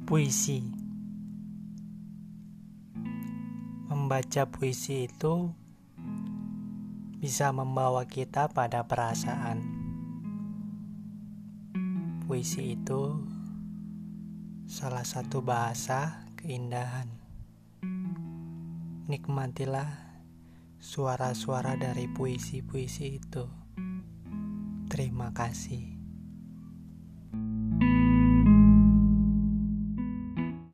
Puisi. Membaca puisi itu bisa membawa kita pada perasaan. Puisi itu salah satu bahasa keindahan. Nikmatilah suara-suara dari puisi-puisi itu. Terima kasih.